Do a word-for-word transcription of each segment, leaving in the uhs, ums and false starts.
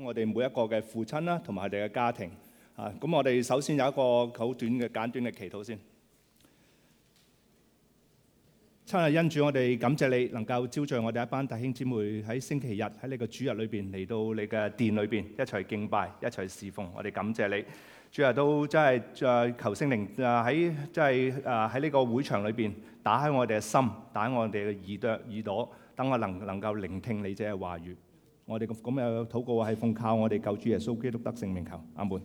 我哋每一個嘅父親啦，同埋佢哋嘅家庭啊。咁我哋首先有一個好短嘅簡短嘅祈禱先。親愛恩主，我哋感謝你能夠招聚我哋一班弟兄姊妹喺星期日喺你個主日裏邊嚟到你嘅殿裏邊一齊敬拜，一齊侍奉。我哋感謝你，主日都真係誒求聖靈誒喺即係誒喺呢個會場裏邊打開我哋嘅心，打開我哋嘅耳朵耳朵，等我能能夠聆聽你嘅話語。我哋咁咁嘅禱告係奉靠我哋救主耶穌基督得聖名求，阿門。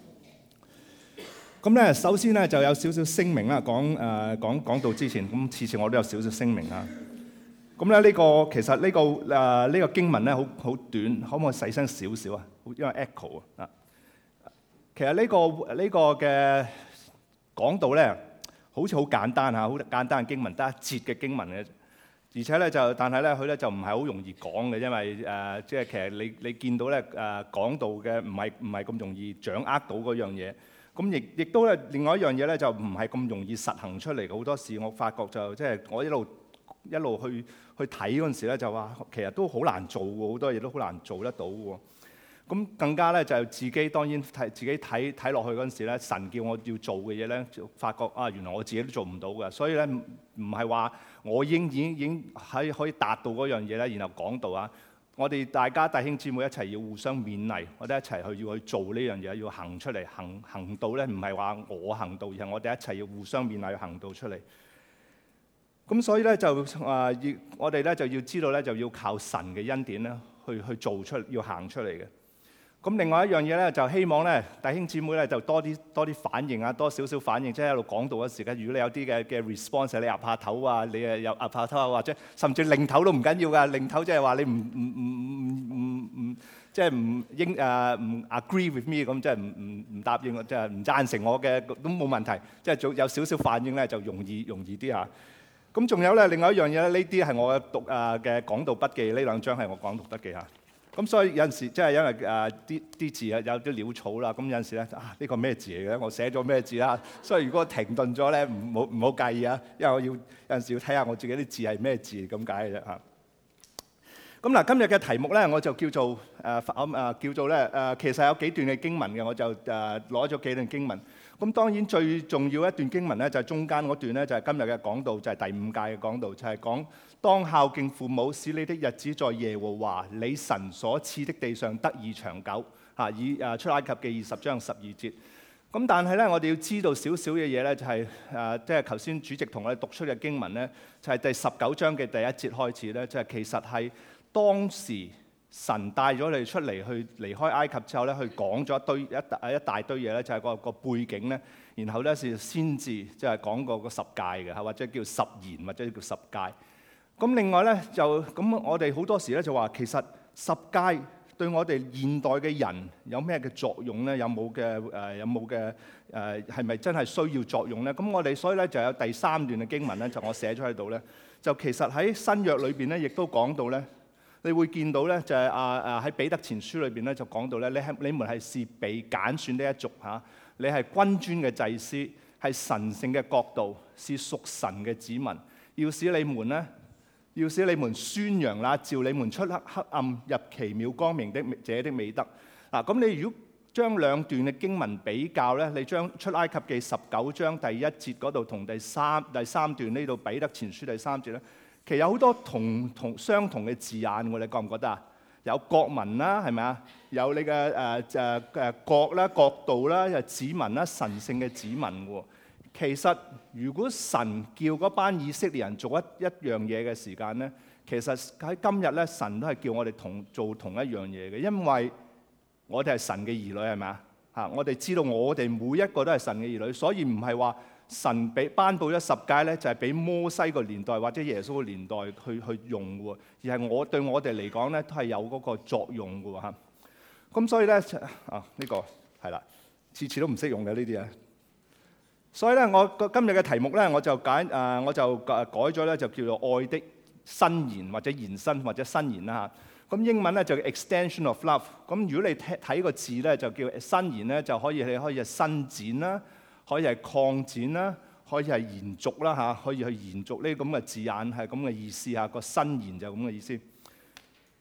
咁咧，首先咧就有少少聲明啦，講誒講講到之前，咁次次我都有少少聲明啦。咁咧呢個其實呢個誒呢個經文咧好好短，可唔可以細聲少少啊？因為 echo 啊。其實呢個呢個嘅講道咧，好似好簡單嚇，好簡單嘅經文，得一節嘅經文嘅。而且咧就，但係咧佢咧就唔係好容易講嘅，因為誒即係其實你你見到咧誒講道嘅唔係唔係咁容易掌握到嗰樣嘢。咁亦亦都咧，另外一樣嘢咧就唔係咁容易實行出嚟。好多時我發覺就即係我一路一路去去睇嗰陣時咧，就話其實都好難做喎，好多嘢都好難做得到喎。咁更加咧就自己當然睇自己睇睇落去嗰陣時咧，神叫我要做嘅嘢咧，就發覺啊原來我自己都做唔到嘅。所以咧唔唔係話我已經已經已經喺可以達到嗰樣嘢咧，然後講道啊。我哋大家弟兄姊妹一齊要互相勉勵，我哋一齊去要去做呢樣嘢，要行出嚟，行行道咧，唔係話我行道，而係我哋一齊要互相勉勵行道出嚟。咁所以咧就啊，要我哋咧就要知道咧，就要靠神嘅恩典咧，去去做出，要行出嚟嘅。咁另外一樣嘢咧，就希望咧弟兄姊妹咧就多啲多啲反應啊，多少少反應，即係喺度講道嗰時間，如果你有啲嘅嘅 response，你岌下頭啊，你誒有岌下頭啊，或者甚至擰頭都唔緊要㗎，擰頭即係話你唔唔唔唔唔唔即係唔應誒唔 agree with me 咁，即係唔唔唔答應，即係唔贊成我嘅都冇問題，即係做有少少反應咧就容易容易啲嚇。咁仲有咧另外一樣嘢咧，呢啲係我嘅讀誒嘅講道筆記，呢兩張係我講道筆記嚇。咁所以有陣時即係因為誒啲啲字啊有啲潦草啦，咁有陣時咧啊呢個咩字嚟嘅？我寫咗咩字啦？所以如果停頓咗咧，唔好唔好介意啊，因為我要有陣時要睇下我自己啲字係咩字咁解嘅啫嚇。咁嗱，今日嘅題目咧，我就叫做誒誒叫做咧誒，其實有幾段嘅經文嘅，我就誒攞咗幾段經文。咁當然最重要一段經文咧，就係中間嗰段咧，就係今日嘅講道，就係第五屆嘅講道，就係講當孝敬父母，使你的日子在耶和華你神所賜的地上得以長久。嚇，以誒出埃及記二十章十二節。咁但係咧，我哋要知道少少嘅嘢咧，就係誒，即係頭先主席同我哋讀出嘅經文咧，就係第十九章嘅第一節開始咧，就係其實係當時神帶咗你出嚟去離開埃及之後咧，去講咗一堆一大一大堆嘢咧，就係個個背景咧，然後咧是先至即係講過個十誡嘅嚇，或者叫十言，或者叫十誡。咁另外咧就咁，我哋好多時咧就話其實十誡對我哋現代嘅人有咩嘅作用咧？有冇嘅誒？有冇嘅誒？係咪真係需要作用咧？咁我哋所以咧就有第三段嘅經文咧，就我寫咗喺度咧，就其實喺新約裏邊咧，亦都講到咧。你會見到咧，就係啊啊喺彼得前書裏邊咧，就講到咧，你係你們係是被揀選的一族嚇，你係君尊嘅祭司，係神聖嘅國度，是屬神嘅子民，要使你們咧，要使你們宣揚啦，召你們出黑黑暗入奇妙光明的這的美德。嗱，咁你如果將兩段嘅經文比較咧，你將出埃及記十九章第一節嗰度同第三第三段呢度彼得前書第三節咧。其實有好多同同相同嘅字眼喎，你覺唔覺得啊？有國民啦，係咪啊？有你嘅誒誒誒國啦、國度啦、又子民啦、神聖嘅子民喎。其實如果神叫嗰班以色列人做一一樣嘢嘅時間咧，其實喺今日咧，神都係叫我哋同做同一樣嘢嘅，因為我哋係神嘅兒女，係咪啊？嚇，我哋知道我哋每一個都係神嘅兒女，所以唔係話。神俾頒布咗十誡咧，就係俾摩西個年代或者耶穌個年代去去用嘅喎，而係我對我哋嚟講咧，都係有嗰個作用嘅喎嚇。咁所以咧啊，呢個係啦，次次都唔識用嘅呢啲啊。所以咧，我個今日嘅題目咧，我就解誒，我就改咗咧，就叫做愛的伸延或者延伸或者伸延啦嚇。咁英文咧就叫 extension of love。咁如果你睇睇個字咧，就叫伸延咧，就可以你可以係伸展啦。可以係擴展啦，可以係延續啦嚇，可以去延續呢啲咁嘅字眼係咁嘅意思嚇，個伸延就咁嘅意思。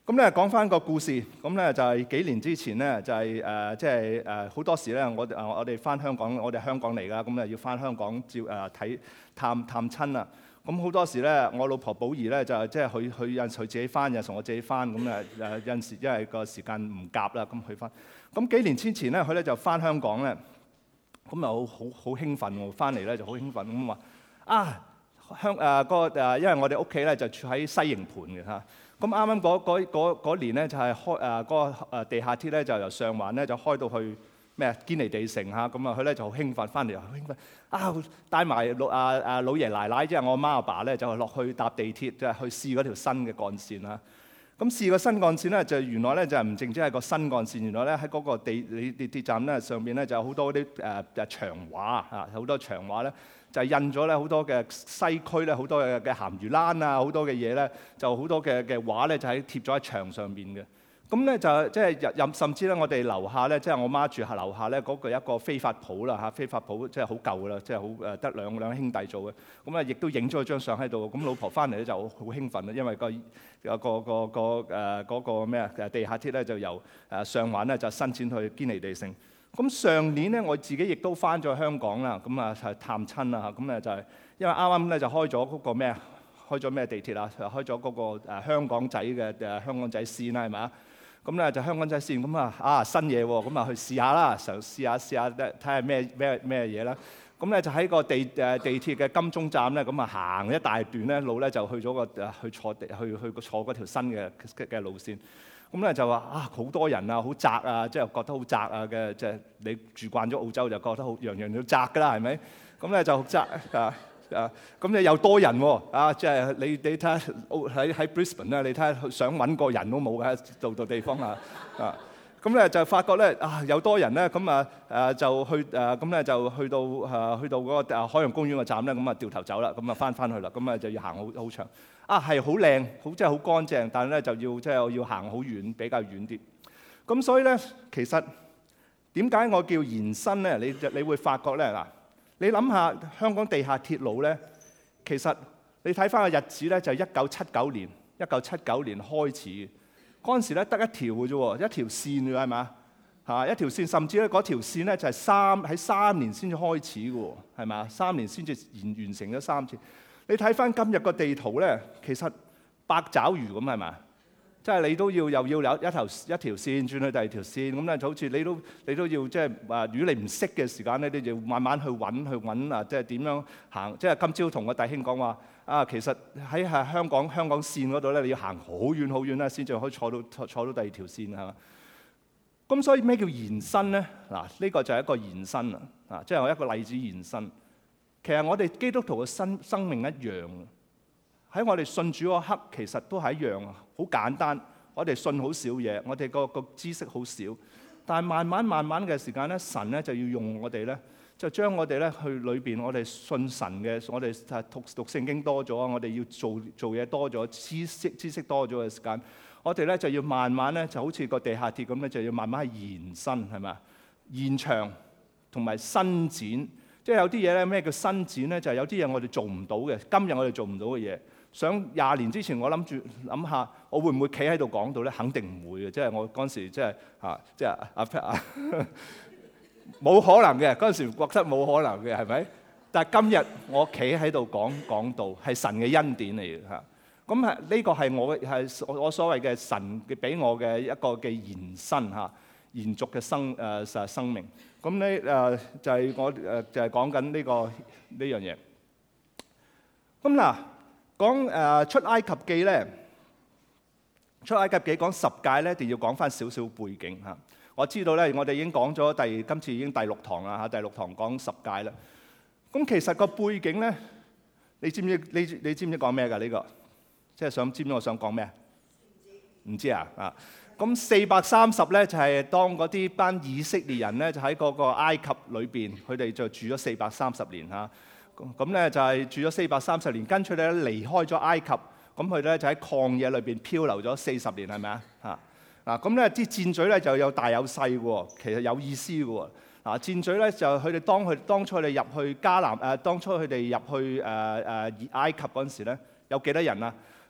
咁咧講翻個故事，咁咧就係幾年之前咧，就係誒即係誒好多時咧，我誒我哋翻香港，我哋香港嚟㗎，咁啊要翻香港照誒睇探探親啊。咁好多時咧，我老婆寶儀咧就即係佢佢有陣時佢自己翻，有陣時我自己翻，咁誒誒有陣時因為個時間唔夾啦，咁佢翻。咁幾年之前咧，佢咧就翻香港咧，咁又好好好興奮喎，翻嚟咧就好興奮咁話啊香誒個誒，因為我哋屋企咧就住喺西營盤嘅嚇。咁啱啱嗰嗰嗰嗰年咧就係開誒嗰個誒地下鐵咧就由上環咧就開到去咩啊堅尼地城嚇，咁啊佢咧就好興奮，翻嚟又好興奮啊，帶埋老啊啊老爺奶奶即係我阿媽阿爸咧就落去搭地鐵，即係去試嗰條新嘅幹線啦。咁試個新幹線咧就原來咧就唔淨止係個新幹線，原來咧喺嗰個地地鐵站咧上邊咧就有好多啲誒誒牆畫嚇，好多牆畫咧。就印咗咧好多嘅西區咧好多嘅嘅鹹魚欄啊，好多嘅嘢咧，就好多嘅嘅畫咧就喺貼咗喺牆上邊嘅。咁咧就即係任甚至咧，我哋樓下咧，即係我媽住喺樓下咧，嗰個一個飛髮鋪啦嚇，飛髮鋪即係好舊噶啦，即係好誒得兩兩兄弟做嘅。咁啊，亦都影咗張相喺度。咁老婆翻嚟咧就好興奮啦，因為個有個個個誒嗰個咩啊地下鐵咧就由誒上環咧就伸展去堅尼地城。咁上年咧，我自己亦都翻咗香港啦，咁啊係探親啦嚇，咁咧就係因為啱啱咧就開咗嗰個咩啊，開咗咩地鐵啊？開咗嗰個誒香港仔嘅誒香港仔線啦，係咪啊？咁咧就香港仔線，咁啊啊新嘢喎，咁啊去試下啦，嘗試下試下睇下咩咩咩嘢啦。咁咧就喺個地誒地鐵嘅金鐘站咧，咁啊行一大段咧路咧，就去咗個誒去坐地去去坐嗰條新嘅嘅路線。咁咧就話啊好多人啊，好窄啊，即係覺得好窄啊嘅，即係你住慣咗澳洲就覺得好樣樣都窄㗎啦，係咪？咁咧就窄啊啊！咁你又多人喎啊！即係你你睇下喺喺 Brisbane 咧，你睇下想揾個人都冇嘅，度度地方啊啊！咁咧就發覺咧啊有多人咧，咁啊誒就去誒咁咧就去到誒去到嗰個誒海洋公園個站咧，咁啊掉頭走啦，咁啊翻翻去啦，咁啊就要行好好長。啊，係好靚，好即係好乾淨，但係咧就要即係要行好遠，比較遠啲。咁所以咧，其實點解我叫延伸咧？你你會發覺咧嗱，你諗下香港地下鐵路咧，其實你睇翻個日子咧，就係一九七九年，一九七九年開始嘅。嗰陣時咧得一條嘅啫喎，一條線㗎係嘛嚇，一條線，甚至咧嗰條線咧就係三喺三年先至開始嘅喎，係嘛？三年先至完完成咗三次。你睇翻今日個地圖咧，其實八爪魚咁係嘛？即係你都要又要有一條一條線轉去第二條線，咁咧就好似你都你都要即係話，如果你唔識嘅時間咧，你就要慢慢去揾去揾啊！即係點樣行？即係今朝同個弟兄講話啊，其實喺係香港香港線嗰度咧，你要行好遠好遠咧，先至可以坐到坐坐到第二條線係嘛？咁所以咩叫延伸咧？嗱，呢個就係一個延伸啊！啊，即係我一個例子延伸。其實我哋基督徒嘅生生命一樣，喺我哋信主嗰刻，其實都係一樣啊，好簡單。我哋信好少嘢，我哋個個知識好少，但係慢慢慢慢嘅時間咧，神咧就要用我哋咧，就將我哋咧去裏邊，我哋信神嘅，我哋讀讀聖經多咗，我哋要做做嘢多咗，知識知識多咗嘅時間，我哋咧就要慢慢咧，就好似個地下鐵咁咧，就要慢慢去延伸，係咪？延長同埋伸展。即係有啲嘢咧，咩叫伸展咧？就係有啲嘢我哋做唔到嘅，今日我哋做唔到嘅嘢。想廿年之前，我諗住諗下，我會唔會企喺度講到咧？肯定唔會嘅。即係我嗰陣時，即係啊，即係阿 Pat 啊，冇可能嘅。嗰陣時覺得冇可能嘅，係咪？但係今日我企喺度講講道，係神嘅恩典嚟嘅嚇。咁係呢個係我係我所謂嘅神嘅俾我嘅一個嘅延伸嚇。延續嘅生誒誒、呃、生命，咁咧誒就係、是、我誒、呃、就係講緊呢個呢樣嘢。咁嗱，講誒、呃、出埃及記咧，出埃及記講十誡咧，一定要講翻少少背景嚇。我知道咧，我哋已經講咗第今次已經第六堂啦嚇，第六堂講十誡啦。咁其實個背景咧，你知唔知？你你知唔知講咩㗎？呢、這個即係想知唔知我想講咩？唔知啊啊！咁四百三十咧就係當嗰啲班以色列人咧就喺嗰個埃及裏邊，佢哋就住咗四百三十年嚇。咁咧就係住咗四百三十年，跟住咧離開咗埃及，咁佢咧就喺曠野裏邊漂流咗四十年，係咪啊？嚇嗱，咁咧啲箭嘴咧就有大有細喎，其實有意思嘅喎。嗱，箭嘴咧就佢哋當佢當初佢哋入去迦南誒，當初佢哋入去誒誒埃及嗰陣時咧，有幾多人啊？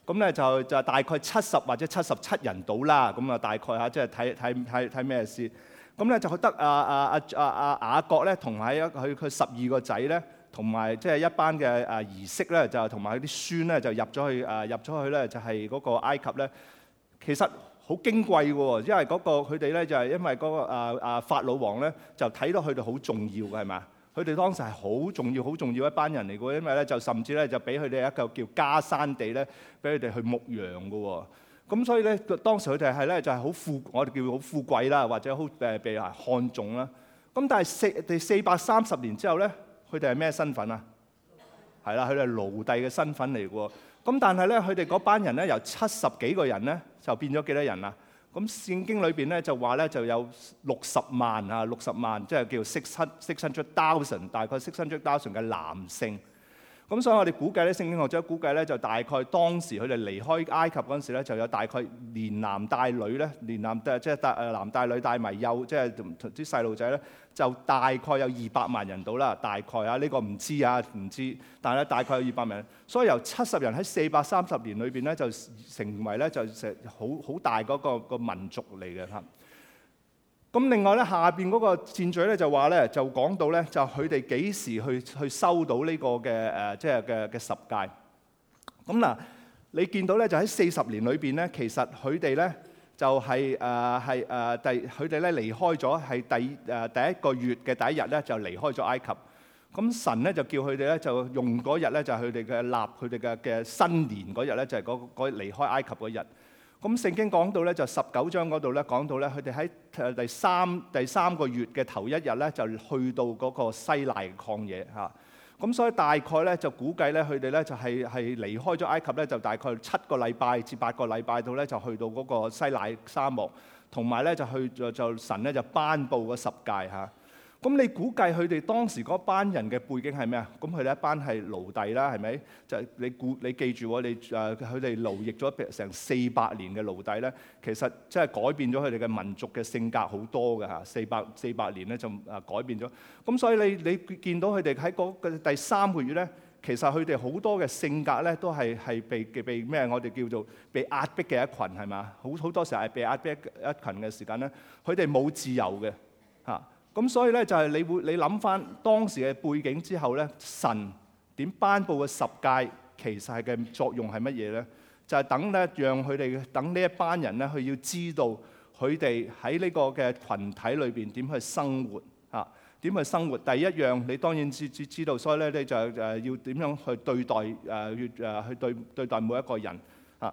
咁咧就就大概七十或者七十七人到啦。咁啊大概嚇，即係睇睇睇睇咩事。咁咧就得啊啊啊啊啊雅各咧，同埋一佢佢十二個仔咧，同埋即係一班嘅啊兒媳咧，就同埋佢啲孫咧，就入咗去啊入咗去咧，就係嗰個埃及咧。其實好矜貴嘅喎，因為嗰個佢哋咧就係因為嗰個啊啊法老王咧，就睇到佢哋好重要嘅係嘛？佢哋當時係好重要、好重要一班人嚟嘅喎，因為咧就甚至咧就俾佢哋一個叫迦山地咧，俾佢哋去牧羊嘅喎。咁所以咧，當時佢哋係咧就係好富，我哋叫好富貴啦，或者好誒被人看重啦。咁但係四第四百三十年之後咧，佢哋係咩身份啊？係啦，佢哋係奴隸嘅身份嚟嘅喎。咁但係咧，佢哋嗰班人咧由七十幾個人咧，就變咗幾多人啊？咁聖經裏邊咧就話咧就有六十萬啊，六十萬即係叫 six six hundred thousand， 大概 six hundred thousand 嘅男性。咁所以我哋估計咧，聖經學者估計咧就大概當時佢哋離開埃及嗰陣時咧，就有大概連男帶女咧，連男帶即係帶誒男帶女帶埋幼，即係啲細路仔咧，就大概有二百萬人到啦。大概啊，呢個唔知啊，唔知，但係咧大概有二百萬人。所以由七十人喺四百三十年裏邊咧，就成為咧就成好好大嗰個個民族嚟嘅嚇。咁另外咧，下邊嗰個箭嘴咧就話咧，就講到咧，就佢哋幾時去去收到呢個嘅誒，即係嘅嘅十誡。咁嗱，你見到咧就喺四十年裏邊咧，其實佢哋咧就係誒係誒第佢哋咧離開咗係第誒第一個月嘅第一日咧就離開咗埃及。咁神咧就叫佢哋咧就用嗰日咧就係佢哋嘅立佢哋嘅嘅新年嗰日咧就係嗰嗰離開埃及嗰日。咁聖經講到咧就十九章嗰度咧講到咧佢哋喺誒第三第三個月嘅頭一日咧就去到嗰個西奈曠野嚇。咁所以大概咧就估計咧佢哋咧就係係離開咗埃及咧就大概七個禮拜至八個禮拜度咧就去到嗰個西奈沙漠，同埋咧就去就就神咧就頒布嗰十誡嚇。咁你估計佢哋當時嗰班人嘅背景係咩啊？咁佢哋一班係奴隸啦，係咪？就你估你記住喎，你誒佢哋奴役咗成四百年嘅奴隸咧，其實即係改變咗佢哋嘅民族嘅性格好多嘅嚇。四百四百年咧就誒改變咗。咁所以你你見到佢哋喺嗰個第三個月咧，其實佢哋好多嘅性格咧都係係被被咩？我哋叫做被壓迫嘅一群係嘛？好好多時候係被壓迫一群嘅時間咧，佢哋冇自由嘅嚇。咁所以咧就係你會你諗翻當時嘅背景之後咧，神點頒布嘅十誡其實係嘅作用係乜嘢咧？就係等咧讓佢哋等呢一班人咧，佢要知道佢哋喺呢個嘅群體裏邊點去生活嚇，點去生活。第一樣你當然知知知道，所以咧你就誒要點樣去對待誒誒去對對待每一個人嚇。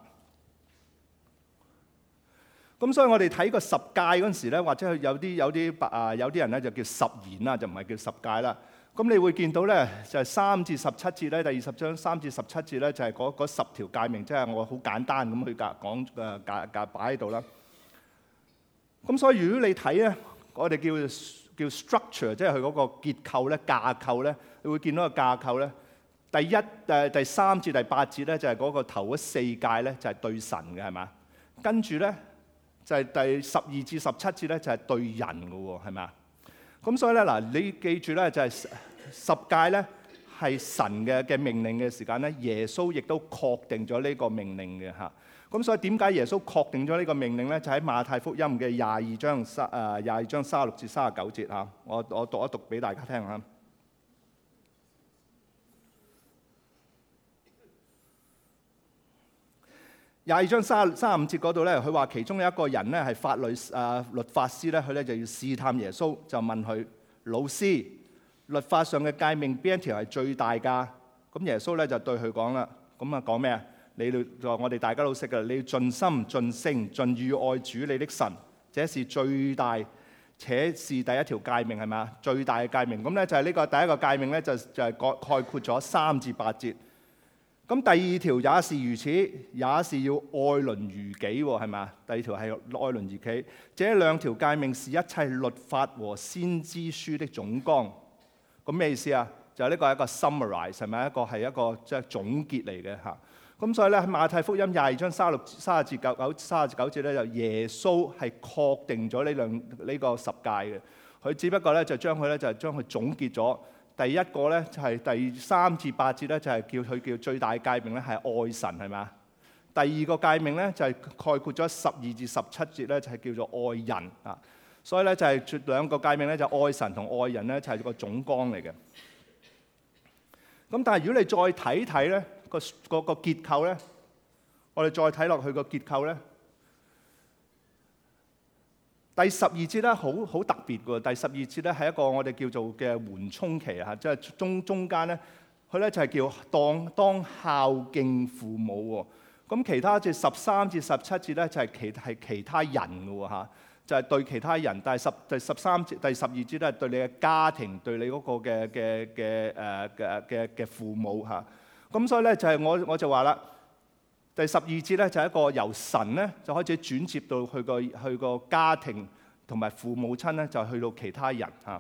咁所以我哋睇個十誡嗰陣時咧，或者有啲有啲啊有啲人咧就叫十言啦，就唔係叫十誡啦。咁你會見到咧就係三至十七節咧，第二十章三至十七節咧就係嗰嗰十條誡命，即係我好簡單咁去講講誒架架擺喺度啦。咁所以如果你睇咧，我哋叫叫 structure，即係佢嗰個結構咧、架構咧，你會見到個架構咧。第一誒第三至第八節咧就係嗰個頭嗰四誡咧就係對神嘅係嘛，跟住咧。就係第十二至十七節咧，就係對人嘅喎，係咪啊？咁所以咧嗱，你記住咧，就係十誡咧係神嘅嘅命令嘅時間咧，耶穌亦都確定咗呢個命令嘅嚇。咁所以點解耶穌確定咗呢個命令咧？就喺馬太福音嘅廿二章三誒廿二章三十六至三十九節嚇。我我讀一讀俾大家聽嚇。廿二章三十三十五節嗰度咧，佢話其中有一個人咧係法律啊律法師咧，佢咧就要試探耶穌，就問佢：老師，律法上嘅誡命邊一條係最大㗎？咁耶穌咧就對佢講啦，咁啊講咩啊？你就我哋大家都識㗎，你要盡心、盡性、盡意愛主你的神，這是最大，且是第一條誡命係咪啊？最大嘅誡命。咁咧就係呢個第一個誡命咧，就就係概概括咗三至八節。咁第二條也是如此，也是要愛鄰如己喎，係咪啊？第二條係愛鄰如己。這兩條誡命是一切律法和先知書的總綱。咁咩意思啊？就係呢個係一個 summarize，係咪一個係一個即係總結嚟嘅嚇。咁所以咧喺馬太福音廿二章三十六、三十至九九、三十至九節咧，就耶穌係確定咗呢兩呢個十誡嘅。佢只不過咧就將佢咧就係將佢總結咗。第一個咧就係第三至八節咧，就係叫佢叫最大誡命咧係愛神係嘛？ 第二個誡命咧就係概括咗十二至十七節咧，就係叫做愛人啊。所以咧就係兩個誡命咧，就愛神同愛人咧，就係個總綱嚟嘅。咁但係如果你再睇睇咧個個個結構咧，我哋再睇落去個結構咧，第十二節咧好好特別嘅。第十二節咧係一個我哋叫做嘅緩衝期啊，即係中中間咧，佢咧就係叫當當孝敬父母喎。咁其他節十三至十七節咧就係其係其他人嘅喎嚇，就係對其他人。但係十第十三節第十二節咧係對你嘅家庭，對你嗰個嘅嘅嘅誒嘅嘅嘅父母嚇。咁所以咧就係我我就話啦，第十二節咧就係一個由神咧就開始轉接到去個去個家庭同埋父母親咧，就去到其他人嚇。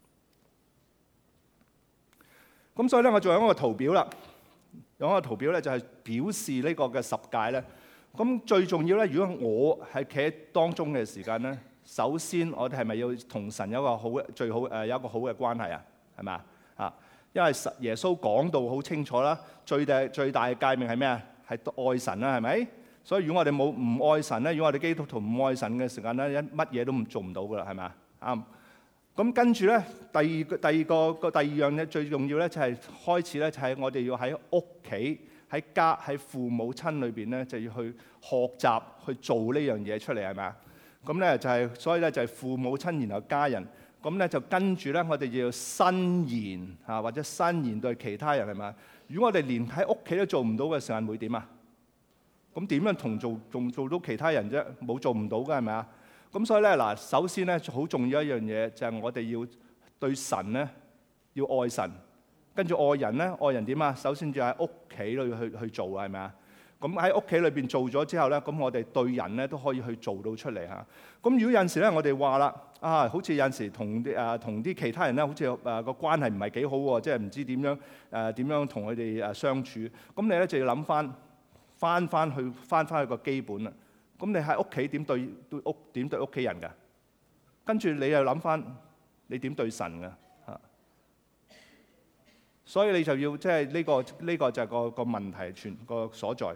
咁所以咧我仲有一個圖表啦。有一個圖表咧，就係表示呢個嘅十誡咧。咁最重要咧，如果我係企喺當中嘅時間咧，首先我哋係咪要同神有一個好最好誒有一個好嘅關係啊？係咪啊？啊，因為耶穌講到好清楚啦，最大最大嘅誡命係咩啊？係愛神啦，係咪？所以如果我哋冇唔愛神咧，如果我哋基督徒唔愛神嘅時間咧，一乜嘢都唔做唔到噶啦，係咪啊？啱。咁跟住咧，第二個第二個個第二樣嘢最重要咧，就係開始咧，就係我哋要喺屋企、喺家、喺父母親裏邊咧，就要去學習去做呢樣嘢出嚟，係咪啊？咁咧就係，所以咧就係父母親，然後家人。咁咧就跟住咧，我哋要伸言嚇，或者伸言對其他人，係咪啊？如果我哋連喺屋企都做唔到嘅時候，會點啊？咁點樣同做仲做到其他人啫？冇做唔到㗎，係咪啊？咁所以咧嗱，首先咧好重要一樣嘢就係我哋要對神咧要愛神，跟住愛人咧，愛人點啊？首先就喺屋企裏去去做啊，係咪啊？咁喺屋企裏邊做咗之後咧，咁我哋對人咧都可以去做到出嚟嚇。咁如果有陣時咧，我哋話啦啊，好似有陣時同啲誒同啲其他人咧，好似誒個關係唔係幾好喎，即係唔知點樣誒點樣同佢哋誒相處。咁你咧就要諗翻翻翻去翻翻去個基本啦。咁你喺屋企點對對屋點對屋企人㗎？跟住你又諗翻你點對神㗎嚇？所以你就要即係呢個呢個就係個個問題全個所在。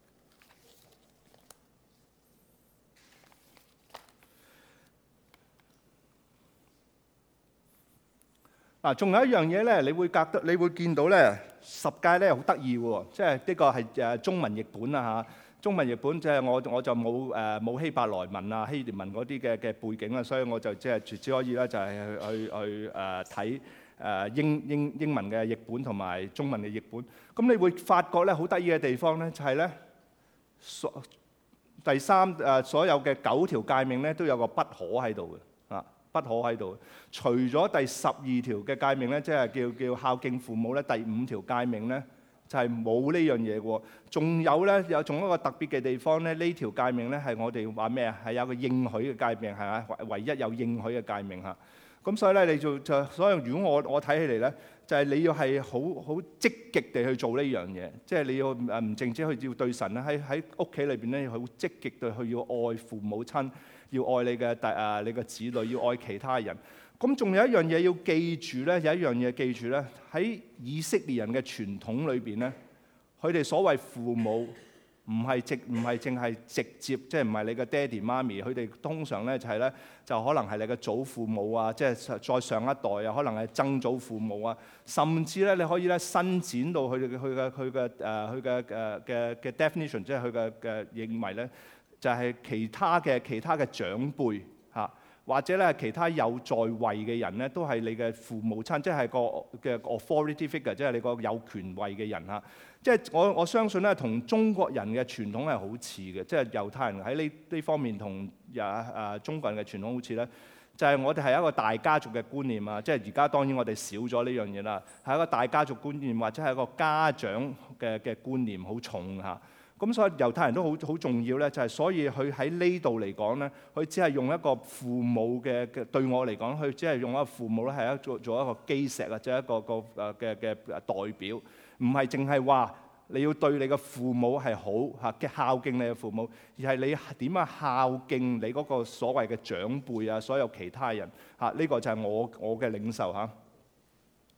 嗱，仲有一樣嘢咧，你會覺得你會見到咧，十誡咧好得意喎，即係呢個係誒中文譯本啊嚇。中文譯本即係我我就冇誒冇希伯來文啊希臘文嗰啲嘅嘅背景啊，所以我就即係只可以咧就係去去去誒睇誒英英英文嘅譯本同埋中文嘅譯本。咁你會發覺咧好得意嘅地方咧就係咧，所第三誒所有嘅九條誡命咧都有個不可喺度嘅啊，不可喺度。除咗第十二條嘅誡命咧，即係叫叫孝敬父母咧，第五條誡命咧，就係冇呢樣嘢喎，仲有咧有仲一個特別嘅地方咧，呢條誡命咧係我哋話咩啊？係有個應許嘅誡命係嘛？唯一有應許嘅誡命嚇。咁所以咧，你就就所以如果我我睇起嚟咧，就係你要係好好積極地去做呢樣嘢，即係你要誒唔淨止去要對神咧，喺喺屋企裏邊咧要好積極地去要愛父母親，要愛你嘅弟啊你嘅子女，要愛其他人。咁仲有一樣嘢要記住咧，有一樣嘢記住咧，喺以色列人嘅傳統裏邊咧，佢哋所謂父母唔係直唔係淨係直接，即係唔係你嘅爹哋媽咪，佢哋通常咧就係咧就可能係你嘅祖父母啊，即係再上一代啊，可能係曾祖父母啊，甚至咧你可以咧伸展到佢哋嘅佢嘅佢嘅誒佢嘅誒嘅嘅 definition， 即係佢嘅嘅認為咧，就係其他嘅其他嘅長輩嚇。或者咧，其他有在位嘅人咧，都係你嘅父母親，即係個嘅 authority figure，即係你個有權位嘅人嚇。即係我我相信咧，同中國人嘅傳統係好似嘅，即係猶太人喺呢呢方面同啊啊中國人嘅傳統好似咧，就係我哋係一個大家族嘅觀念啊。即係而家當然我哋少咗呢樣嘢啦，係一個大家族觀念，或者係一個家長嘅嘅觀念好重嚇。咁所以猶太人都好好重要咧，就係所以佢喺呢度嚟講咧，佢只係用一個父母嘅嘅對我嚟講，佢只係用一個父母咧係一做做一個基石啊，即係一個個誒嘅嘅代表，唔係淨係話你要對你嘅父母係好嚇嘅孝敬你嘅父母，而係你點樣孝敬你嗰個所謂嘅長輩啊，所有其他人嚇，呢個就係我我嘅領受嚇。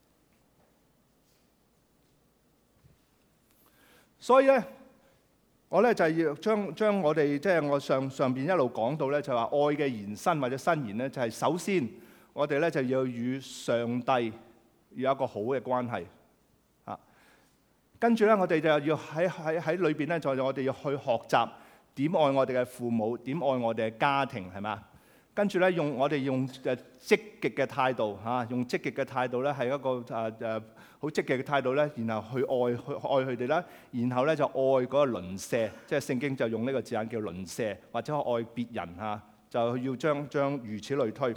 所以咧。 我咧就係要將將我哋即係我上上邊一路講到咧，就話愛嘅延伸或者伸延咧，就係首先我哋咧就要與上帝要有一個好嘅關係啊。跟住咧，我哋就要喺喺喺裏邊咧，就我哋要去學習點愛我哋嘅父母，點愛我哋嘅家庭，係嘛？跟住咧，用我哋用誒積極嘅態度嚇，用積極嘅態度咧，係一個誒誒好積極嘅態度咧，然後去愛去愛佢哋啦，然後咧就愛嗰個鄰舍，即係聖經就用呢個字眼叫鄰舍，或者愛別人嚇，就要將將如此類推。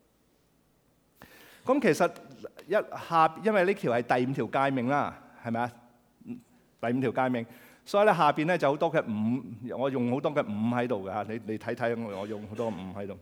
咁其實一下，因為呢條係第五條誡命啦，係咪啊？第五條誡命，所以咧下邊咧就好多嘅五，我用好多嘅五喺度嘅嚇，你你睇睇我我用好多五喺度。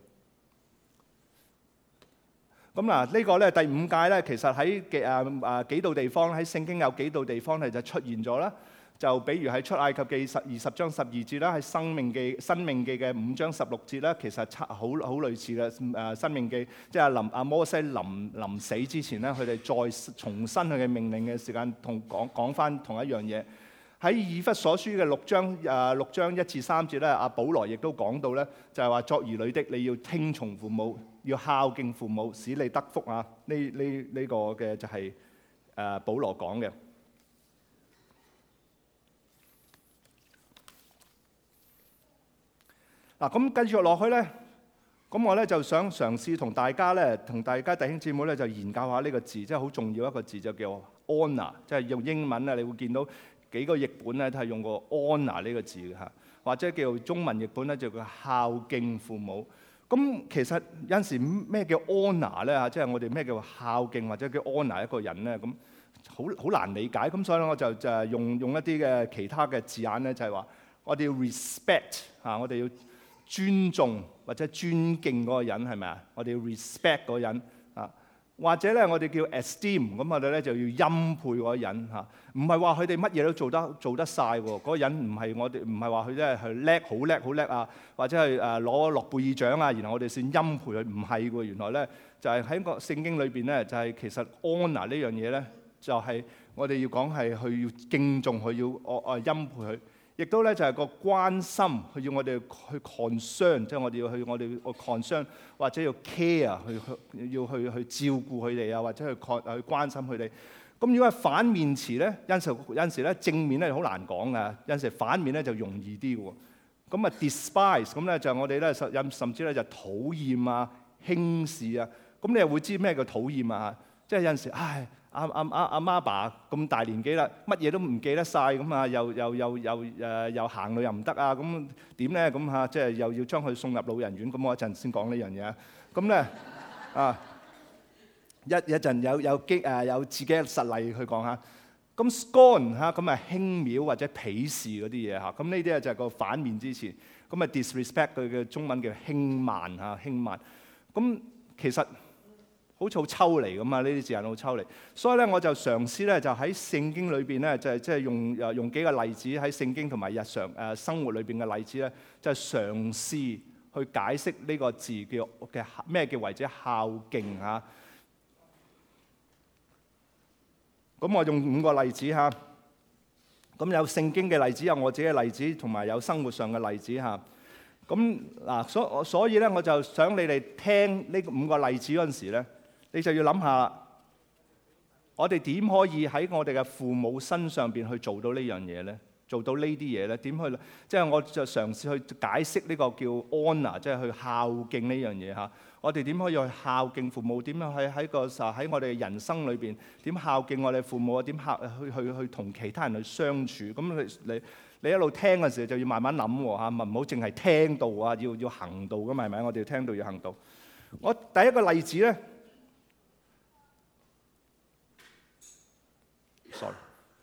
咁嗱，呢個咧第五誡咧，其實喺幾啊啊幾度地方喺聖經有幾度地方係就出現咗啦。就比如喺出埃及記十二十章十二節啦，喺申命記申命記嘅五章十六節啦，其實差好好類似嘅誒申命記，即係臨阿摩西臨臨死之前咧，佢哋再重申佢嘅命令嘅時間，同講講翻同一樣嘢。喺以弗所書嘅六章誒六章一至三節咧，阿保羅亦都講到咧，就係話作兒女的你要聽從父母，要孝敬父母，使你得福啊！呢呢呢個嘅就係誒保羅講嘅。嗱，咁繼續落去咧，咁我咧就想嘗試同大家咧，同大家弟兄姊妹咧就研究下呢個字，即係好重要一個字，就叫 honor， 即係用英文咧，你會見到幾個譯本咧都係用過 honor 呢個字嘅嚇，或者叫中文譯本咧就叫孝敬父母。咁其實有陣時咩叫 honor 咧嚇，即係我哋咩叫孝敬或者叫 honor 一個人咧，咁好好難理解。咁所以咧我就就係用用一啲嘅其他嘅字眼咧，就係話我哋要 respect 嚇，我哋要尊重或者尊敬嗰個人係咪啊？我哋要 respect 嗰個人啊，或者咧我哋叫 esteem， 咁我哋咧就要欽佩嗰個人嚇。唔係話佢哋乜嘢都做得做得晒喎，嗰個人唔係我哋唔係話佢真係係叻好叻好叻啊，或者係誒攞諾貝爾獎啊，然後我哋先欽佩佢，唔係喎。原來咧就係喺個聖經裏邊咧，就係其實 honor 呢樣嘢咧，就係我哋要講係佢要敬重佢，要我我欽佩佢。亦都咧就係個關心，佢要我哋去 concern， 即係我哋要去我哋去 concern 或者要 care， 去去要去去照顧佢哋啊，或者去去關心佢哋。咁如果係反面詞咧，有時有陣時咧正面咧好難講噶，有陣時反面咧就容易啲喎。咁啊 despise 咁咧就我哋咧甚甚至咧就討厭啊、輕視啊。咁你又會知咩叫討厭啊？即係有陣時唉。阿阿阿阿媽爸咁大年紀啦，乜嘢都唔記得晒。咁啊，又又又又誒又行路又唔得啊，咁點咧？咁嚇即係又要將佢送入老人院。咁我一陣先講呢樣嘢。咁咧啊，一一陣有有激誒有自己嘅實例去講下。咁 scorn 嚇咁啊輕蔑或者鄙視嗰啲嘢嚇。咁呢啲啊就係個反面之詞。咁啊 disrespect 佢嘅中文叫輕慢嚇輕慢。咁其實好似好抽離咁啊！呢啲字眼好抽離，所以咧我就嘗試咧就喺聖經裏邊咧就係即係用誒用幾個例子喺聖經同埋日常誒生活裏邊嘅例子咧，就係嘗試去解釋呢個字叫嘅咩叫為之孝敬嚇。咁我用五個例子嚇，咁有聖經嘅例子，有我自己嘅例子，同埋有生活上嘅例子嚇。咁嗱，所所以咧我就想你哋聽呢五個例子嗰陣時咧。你就要諗下，我哋點可以喺我哋嘅父母身上邊去做到呢樣嘢咧？做到呢啲嘢咧？點去？即係我就嘗試去解釋呢個叫 honor，即係去孝敬呢樣嘢嚇。我哋點可以去孝敬父母？點樣喺喺個喺我哋人生裏邊點孝敬我哋父母啊？點孝去去去同其他人去相處？咁你你你一路聽嘅時候就要慢慢諗喎嚇，唔好淨係聽到啊，要要行道㗎嘛係咪？我哋要聽到要行道。我第一個例子咧。Sorry.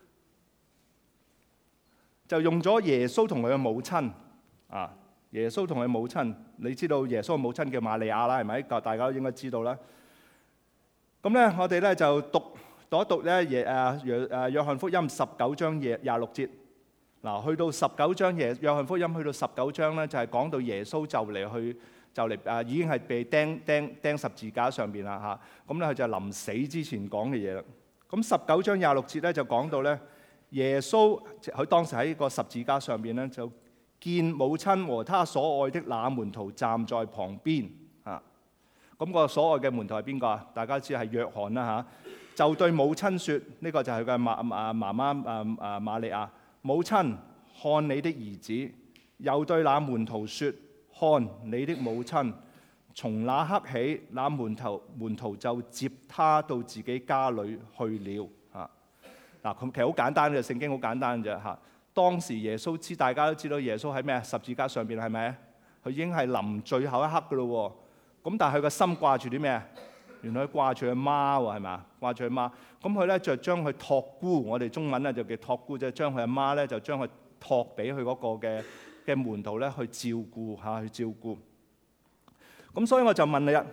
就用咗耶穌同佢嘅母親啊，耶穌同佢母親，你知道耶穌嘅母親叫瑪利亞啦，係咪？大家都應該知道啦。咁咧，我哋咧就讀讀一讀咧耶誒約誒約翰福音十九章廿廿六節。嗱，去到十九章耶約翰福音去到十九章咧，就係講到耶穌就嚟去就嚟誒已經係被釘釘釘十字架上邊啦嚇。咁咧佢就臨死之前講嘅嘢啦。咁十九章廿六節咧就講到咧， 耶穌佢當時喺個十字架上邊咧，就見母親和他所愛的那門徒站在旁邊啊。咁、那個所愛嘅門徒係邊個啊？大家知係約翰啦嚇、啊。就對母親説：呢、這個就係佢嘅媽啊媽媽啊啊瑪利亞。母親，看你的兒子。又對那門徒説：看你的母親。從那刻起，那門徒門徒就接他到自己家裏去了。啊，嗱，咁其實好簡單嘅，聖經好簡單嘅啫嚇。當時耶穌知，大家都知道耶穌喺咩啊？十字架上邊係咪？佢已經係臨最後一刻噶咯喎。咁但係佢個心掛住啲咩啊？原來佢掛住佢媽喎，係咪？掛住佢媽。咁佢咧就將佢託孤，我哋中文咧就叫託孤，即係將佢阿媽咧就將佢託俾佢嗰個嘅嘅門徒咧去照顧嚇，去照顧。咁所以我就問你啊，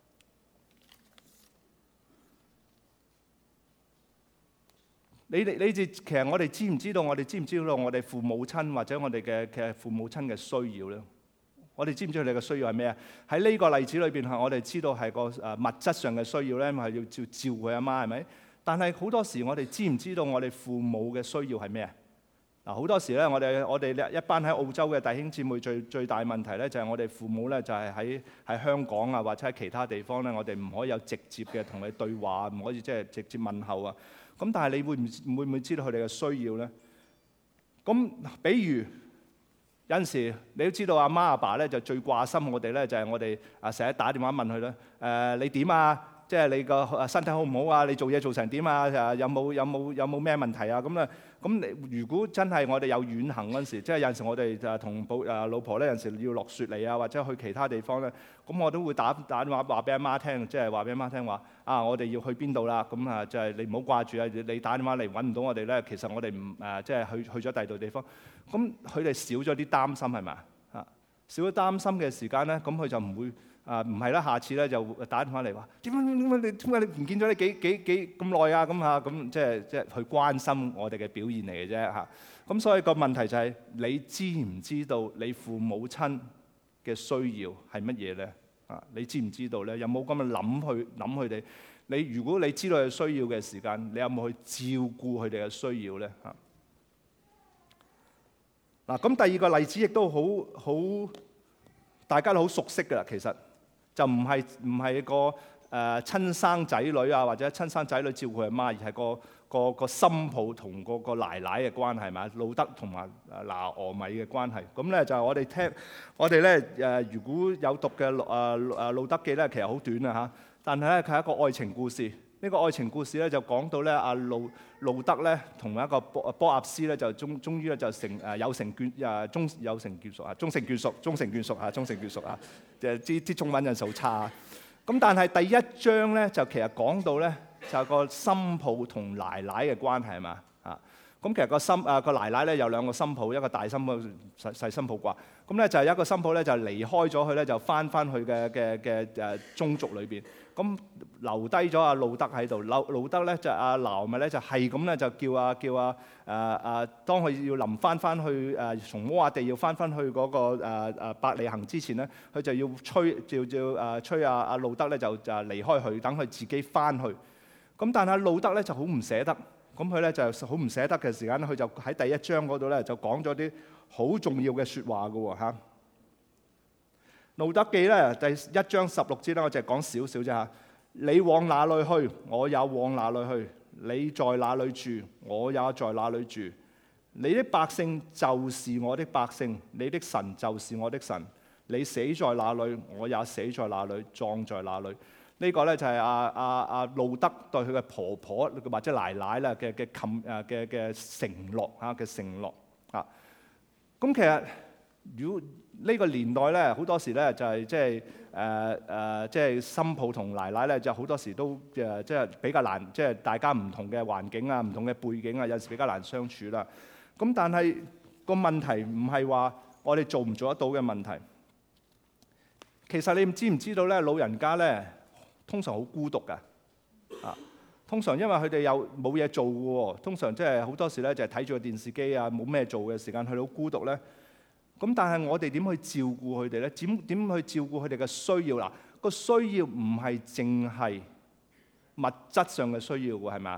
你哋你哋其實我哋知唔知道？我哋知唔知道我哋父母親或者我哋嘅嘅父母親嘅需要咧？我哋知唔知道你嘅需要係咩啊？喺呢個例子裏邊，係我哋知道係個誒物質上嘅需要咧，係要照照顧佢阿媽係咪？但係好多時我哋知唔知道我哋父母嘅需要係咩啊？嗱，好多時咧，我哋我哋一班喺澳洲嘅弟兄姊妹最最大問題咧，就係我哋父母咧就係喺喺香港啊，或者喺其他地方咧，我哋唔可以有直接嘅同你對話，唔可以即係直接問候啊。咁但係你會唔會唔會知道佢哋嘅需要咧？咁比如有陣時你都知道阿媽阿爸咧就最掛心我哋咧，就係我哋啊成日打電話問佢咧，誒你點啊？即係你個身體好唔好啊？你做嘢做成點啊？誒有冇有冇有冇咩問題啊？咁咧，咁你如果真係我哋有遠行嗰陣時，即係有陣時我哋就同保誒老婆咧，有陣時要落雪嚟啊，或者去其他地方咧，咁我都會打打電話話俾阿媽聽，即係話俾阿媽聽話啊，我哋要去邊度啦？咁啊，就係你唔好掛住啊！你打電話嚟揾唔到我哋咧，其實我哋唔誒即係去去咗第二度地方，咁佢哋少咗啲擔心係咪啊？少咗擔心嘅時間咧，咁佢就唔會。啊，唔係啦，下次咧就打電話嚟話點解點解你點解你唔見咗你幾幾幾咁耐啊？咁嚇咁即係即係去關心我哋嘅表現嚟嘅啫嚇。咁所以個問題就係你知唔知道你父母親嘅需要係乜嘢咧？啊，你知唔知道咧？有冇咁嘅諗去諗佢哋？你如果你知道佢需要嘅時間，你有冇去照顧佢哋嘅需要咧？嚇嗱，咁第二個例子亦都好好大家都好熟悉㗎啦，其實。就唔係唔係個誒、呃、親生仔女啊，或者親生仔女照顧佢阿媽，而係個個個心抱同個個奶奶嘅關係，係咪？路德同埋拿俄米嘅關係。咁咧就係我哋聽，我哋咧誒，如果有讀嘅誒誒路德記咧，其實好短啊嚇。但係咧，佢係一個愛情故事。呢、這個愛情故事咧就講到咧阿路路德咧同一個波波亞斯咧就終終於咧就成誒有成眷誒終有成眷屬啊，終成眷屬，終成眷屬啊，終成眷屬啊，就係啲啲中文印數差。咁但係第一章咧就其實講到咧就係個新抱同奶奶嘅關係係嘛啊？咁其實個新誒個奶奶咧有兩個新抱，一個大新抱、細細新抱啩。咁咧就係一個新抱咧就離開咗佢咧，就翻翻去嘅嘅嘅誒宗族裏邊。咁留低咗阿路德喺度，路路德咧就阿拿俄米咧就係咁咧就叫啊叫啊誒誒，當佢要臨翻翻去誒從摩亞地要翻翻去嗰個誒誒伯利恆之前咧，佢就要催叫叫誒催阿阿路德咧就就離開佢，等佢自己翻去。咁但係路德咧就好唔捨得，咁佢咧就好唔捨得嘅時間咧，佢就喺第一章嗰度咧就講咗啲好重要嘅説話㗎喎嚇。路德記咧第一章十六節咧，我淨係講少少啫嚇。你往哪裏去，我也往哪裏去；你在哪裏住，我也在哪裏住。你的百姓就是我的百姓，你的神就是我的神。你死在哪裏，我也死在哪裏，葬在哪裏。呢、這個咧就係阿阿阿路德對佢嘅婆婆或者奶奶啦嘅嘅冚誒嘅嘅承諾嚇嘅承諾啊。咁其實如果呢個年代咧，好多時咧就係即係誒誒，即係新抱同奶奶咧，就好多時都誒即係比較難，即係大家唔同嘅環境啊、唔同嘅背景啊，有時比較難相處啦。咁但係個問題唔係話我哋做唔做得到嘅問題。其實你知唔知道咧？老人家咧通常好孤獨㗎啊！通常因為佢哋又冇嘢做嘅喎，通常即係好多時咧就係睇住個電視機啊，冇咩做嘅時間，佢哋好孤獨咧。咁但係我哋點去照顧佢哋咧？點點去照顧佢哋嘅需要啦？個需要唔係淨係物質上嘅需要喎，係咪啊？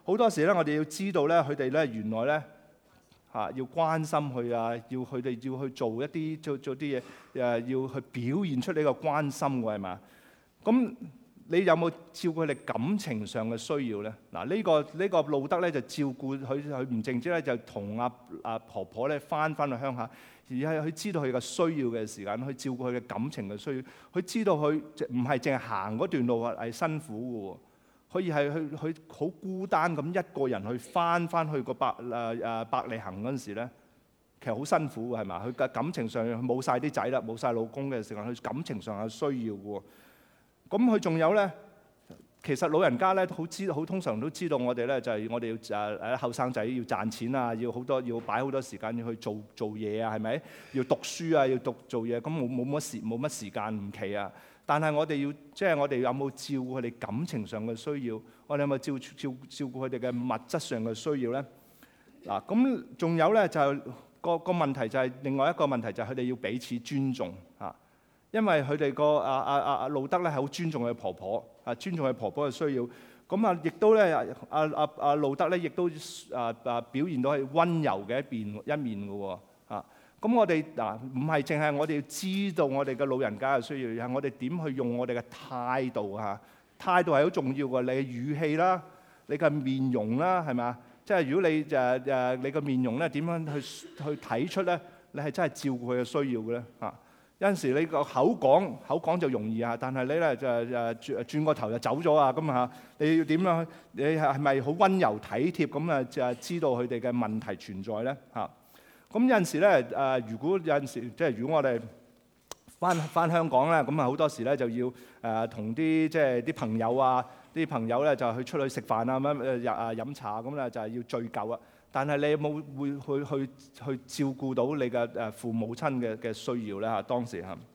好多時咧，我哋要知道咧，佢哋咧原來咧嚇要關心佢啊，要佢哋要去做一啲做做啲嘢誒，要去表現出呢個關心喎，係嘛？咁你有冇照顧佢哋感情上嘅需要咧？嗱，呢個呢個路德咧就照顧佢，佢唔淨止咧就同阿阿婆婆咧翻翻去鄉下，而係佢知道佢嘅需要嘅時間，去照顧佢嘅感情嘅需要。佢知道佢唔係淨係行嗰段路係辛苦嘅喎。可以係去去好孤單咁一個人去翻翻去個伯誒誒伯利恆嗰陣時咧，其實好辛苦嘅係嘛？佢嘅感情上冇晒啲仔啦，冇晒老公嘅時間，佢感情上有需要嘅喎。咁佢仲有咧，其實老人家咧好知好通常都知道我哋咧就係我哋要誒誒後生仔要賺錢啊，要好多要擺好多時間要去做做嘢啊，係咪？要讀書啊，要讀做嘢，咁冇冇乜時冇乜時間唔期啊。但係我哋要，即係我哋有冇照顧佢哋感情上嘅需要？我哋有冇照照照顧佢哋嘅物質上嘅需要咧？嗱，咁仲有咧就係個個問題就係另外一個問題就係佢哋要彼此尊重嚇，因為佢哋個阿阿阿阿路德咧係好尊重佢婆婆啊，尊重佢婆婆嘅需要。咁啊，亦都咧阿阿阿路德咧亦都啊啊表現到係溫柔嘅一邊一面嘅喎啊。咁我哋嗱唔係淨係我哋要知道我哋嘅老人家嘅需要，而係我哋點去用我哋嘅態度嚇，態度係好重要嘅。你嘅語氣啦，你嘅面容啦，係咪啊？即係如果你誒誒你嘅面容咧點樣去去睇出咧，你係真係照顧佢嘅需要嘅咧嚇。有陣時你個口講口講就容易啊，但係你咧就誒轉轉個頭就走咗啊咁嚇。你要點樣？你係咪好溫柔體貼咁啊？就係知道佢哋嘅問題存在咧嚇。咁有陣時咧，誒如果有陣時，即係如果我哋翻翻香港咧，咁啊好多時咧就要誒同啲即係啲朋友啊，啲朋友咧就去出去食飯啊，咁樣誒啊飲茶咁咧就係要聚舊啊。但係你有冇會去去去照顧到你嘅誒父母親嘅嘅需要咧嚇？當時嚇。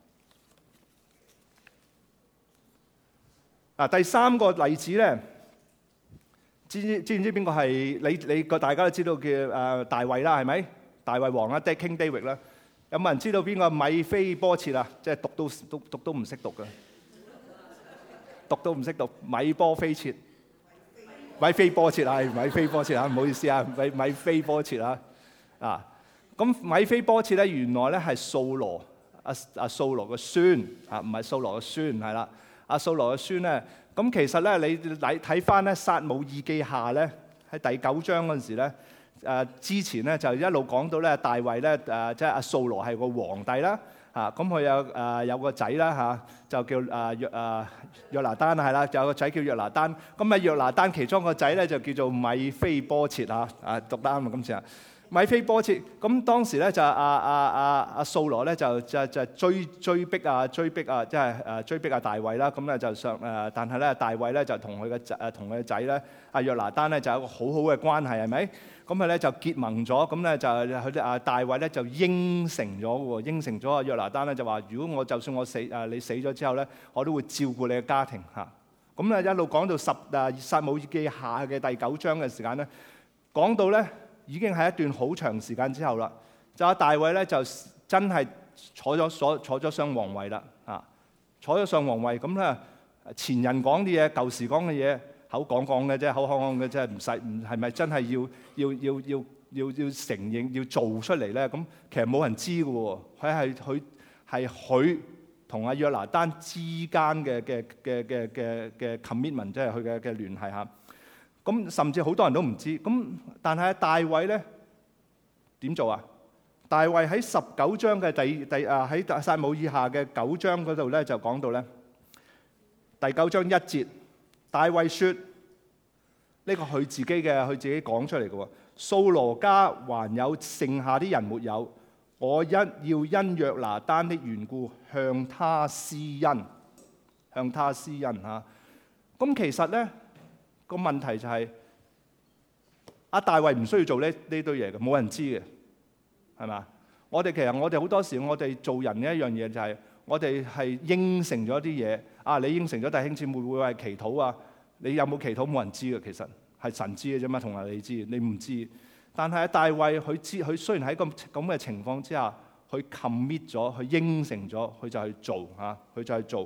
啊，第三個例子咧，知知知唔知邊個係你你個大家都知道叫誒大衛啦，係咪？大衛王啦 ，King David 啦，有冇人知道邊個米非波設啊？即係讀都讀讀都唔識讀嘅，讀都唔識讀，米波非設，米非波設係米非波設啊！唔好意思啊，米米非波設啊啊！咁米非波設咧，原來咧係掃羅阿阿掃羅嘅孫啊，唔係掃羅嘅孫係啦，阿掃羅嘅孫咧，咁其實咧你睇睇翻咧撒母耳記下咧喺第九章嗰陣時咧。誒之前咧就一路講到咧大衛咧誒即係阿掃羅係個皇帝啦嚇，咁佢有誒有個仔啦嚇，就叫誒約誒約拿單係啦，有個仔叫約拿單，咁啊約拿單其中個仔咧就叫做米非波設嚇，啊讀得啱啊今次啊，米非波設，咁當時咧就阿阿阿阿掃羅咧就就就追追逼啊追逼啊即係誒追逼啊大衛啦，咁咧就上誒，但係咧大衛咧就同佢嘅仔誒同佢嘅仔咧阿約拿單咧就有一個好好嘅關係係咪？咁佢咧就結盟咗，咁咧就佢哋啊大衛咧就應承咗喎，應承咗啊約拿單咧就話：如果我就算我死誒你死咗之後咧，我都會照顧你嘅家庭嚇。咁咧一路講到十誒撒母耳記下嘅第九章嘅時間咧，講到咧已經係一段好長時間之後啦。就阿大衛咧就真係坐咗所坐咗上皇位啦嚇，坐咗上皇位咁咧前人講啲嘢，舊時講嘅嘢。口講講嘅啫，口講講嘅啫，唔使唔係咪真係要要要要要要承認要做出嚟咧？咁其實冇人知嘅喎，佢係佢係佢同阿約拿單之間嘅嘅嘅嘅嘅嘅 commitment，即係佢嘅嘅聯繫嚇。咁甚至好多人都唔知。咁但係大衛咧點做啊？大衛喺十九章嘅第第啊喺撒母耳下嘅九章嗰度咧就講到咧第九章一節。大衛說：呢個佢自己嘅，佢自己講出嚟嘅喎。掃羅家還有剩下啲人沒有，我一要因約拿單的緣故向他施恩，向他施恩嚇。咁其實咧個問題就係、是、阿大衛唔需要做呢呢堆嘢嘅，冇人知嘅，係嘛？我哋其實我哋好多時我哋做人嘅一樣嘢就係、是。我哋係應承咗啲嘢，啊！你應承咗弟兄姊妹會係祈禱啊？你有冇祈禱？冇人知嘅，其實係神知嘅啫嘛，同埋你知，你唔知。但係大衛佢知，佢雖然喺咁咁嘅情況之下，佢 commit 咗，佢應承咗，佢就去做嚇，佢就去做。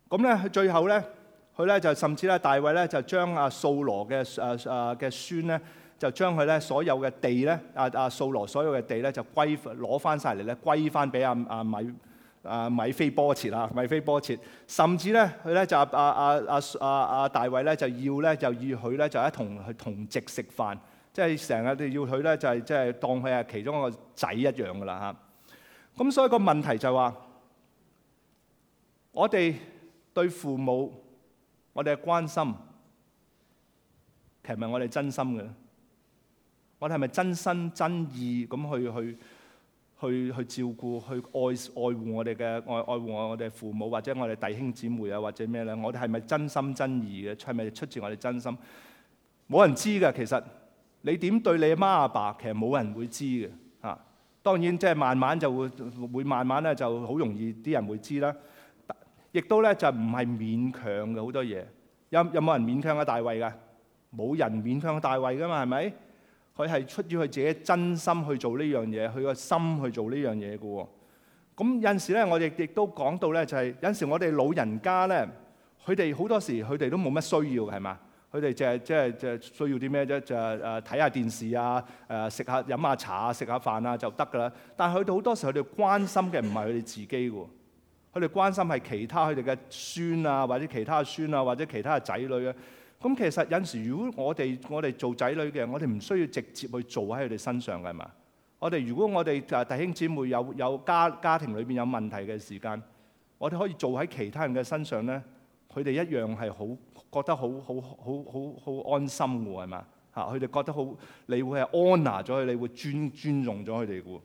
咁咧，佢最後咧，佢咧就甚至咧，大衛咧就將阿掃羅嘅誒誒嘅孫咧，就將佢咧所有嘅地咧，阿阿掃羅所有嘅地咧，就歸攞翻晒嚟咧，歸翻俾阿阿米阿米非波設啊，米非波設。甚至咧，佢咧就阿阿阿阿阿阿大衛咧就要咧就要佢咧就一同去同席食飯，即係成日都要佢咧就係即係當佢係其中一個仔一樣噶啦嚇。咁所以個問題就係話，我哋對父母我哋嘅關心，其實係咪我哋真心嘅？我哋係咪真心真意咁去去去去照顧、去愛愛護我哋嘅愛愛護我哋父母，或者我哋弟兄姊妹啊，或者咩咧？我哋係咪真心真意嘅？係咪出自我哋真心？冇人知㗎。其實你點對你阿媽阿爸，其實冇人會知嘅嚇。當然即係慢慢就會會慢慢咧就好容易啲人會知啦。亦都咧就唔係勉強嘅好多嘢。有有冇人勉強阿大衛㗎？冇人勉強阿大衛㗎嘛，係咪？佢係出於佢自己真心去做呢樣嘢，佢個心去做呢樣嘢嘅喎。咁有陣時咧，我哋亦都講到咧，就係有陣時我哋老人家咧，佢哋好多時佢哋都冇乜需要嘅，係嘛？佢哋就係即係即係需要啲咩啫？就係誒睇下電視啊，誒食下飲下茶啊，食下飯啊就得㗎啦。但係佢哋好多時佢哋關心嘅唔係佢哋自己喎。佢哋關心係其他佢哋嘅孫啊，或者其他嘅孫啊，或者其他嘅仔女啊。咁其實有陣時，如果我哋我哋做仔女嘅，我哋唔需要直接去做喺佢哋身上嘅，係嘛？我哋如果我哋誒弟兄姊妹有有家家庭裏邊有問題嘅時間，我哋可以做喺其他人嘅身上咧，佢哋一樣係好覺得好好好好好安心嘅，係嘛？嚇，佢哋覺得好，你會係 honour 咗佢，你會尊尊重咗佢哋嘅。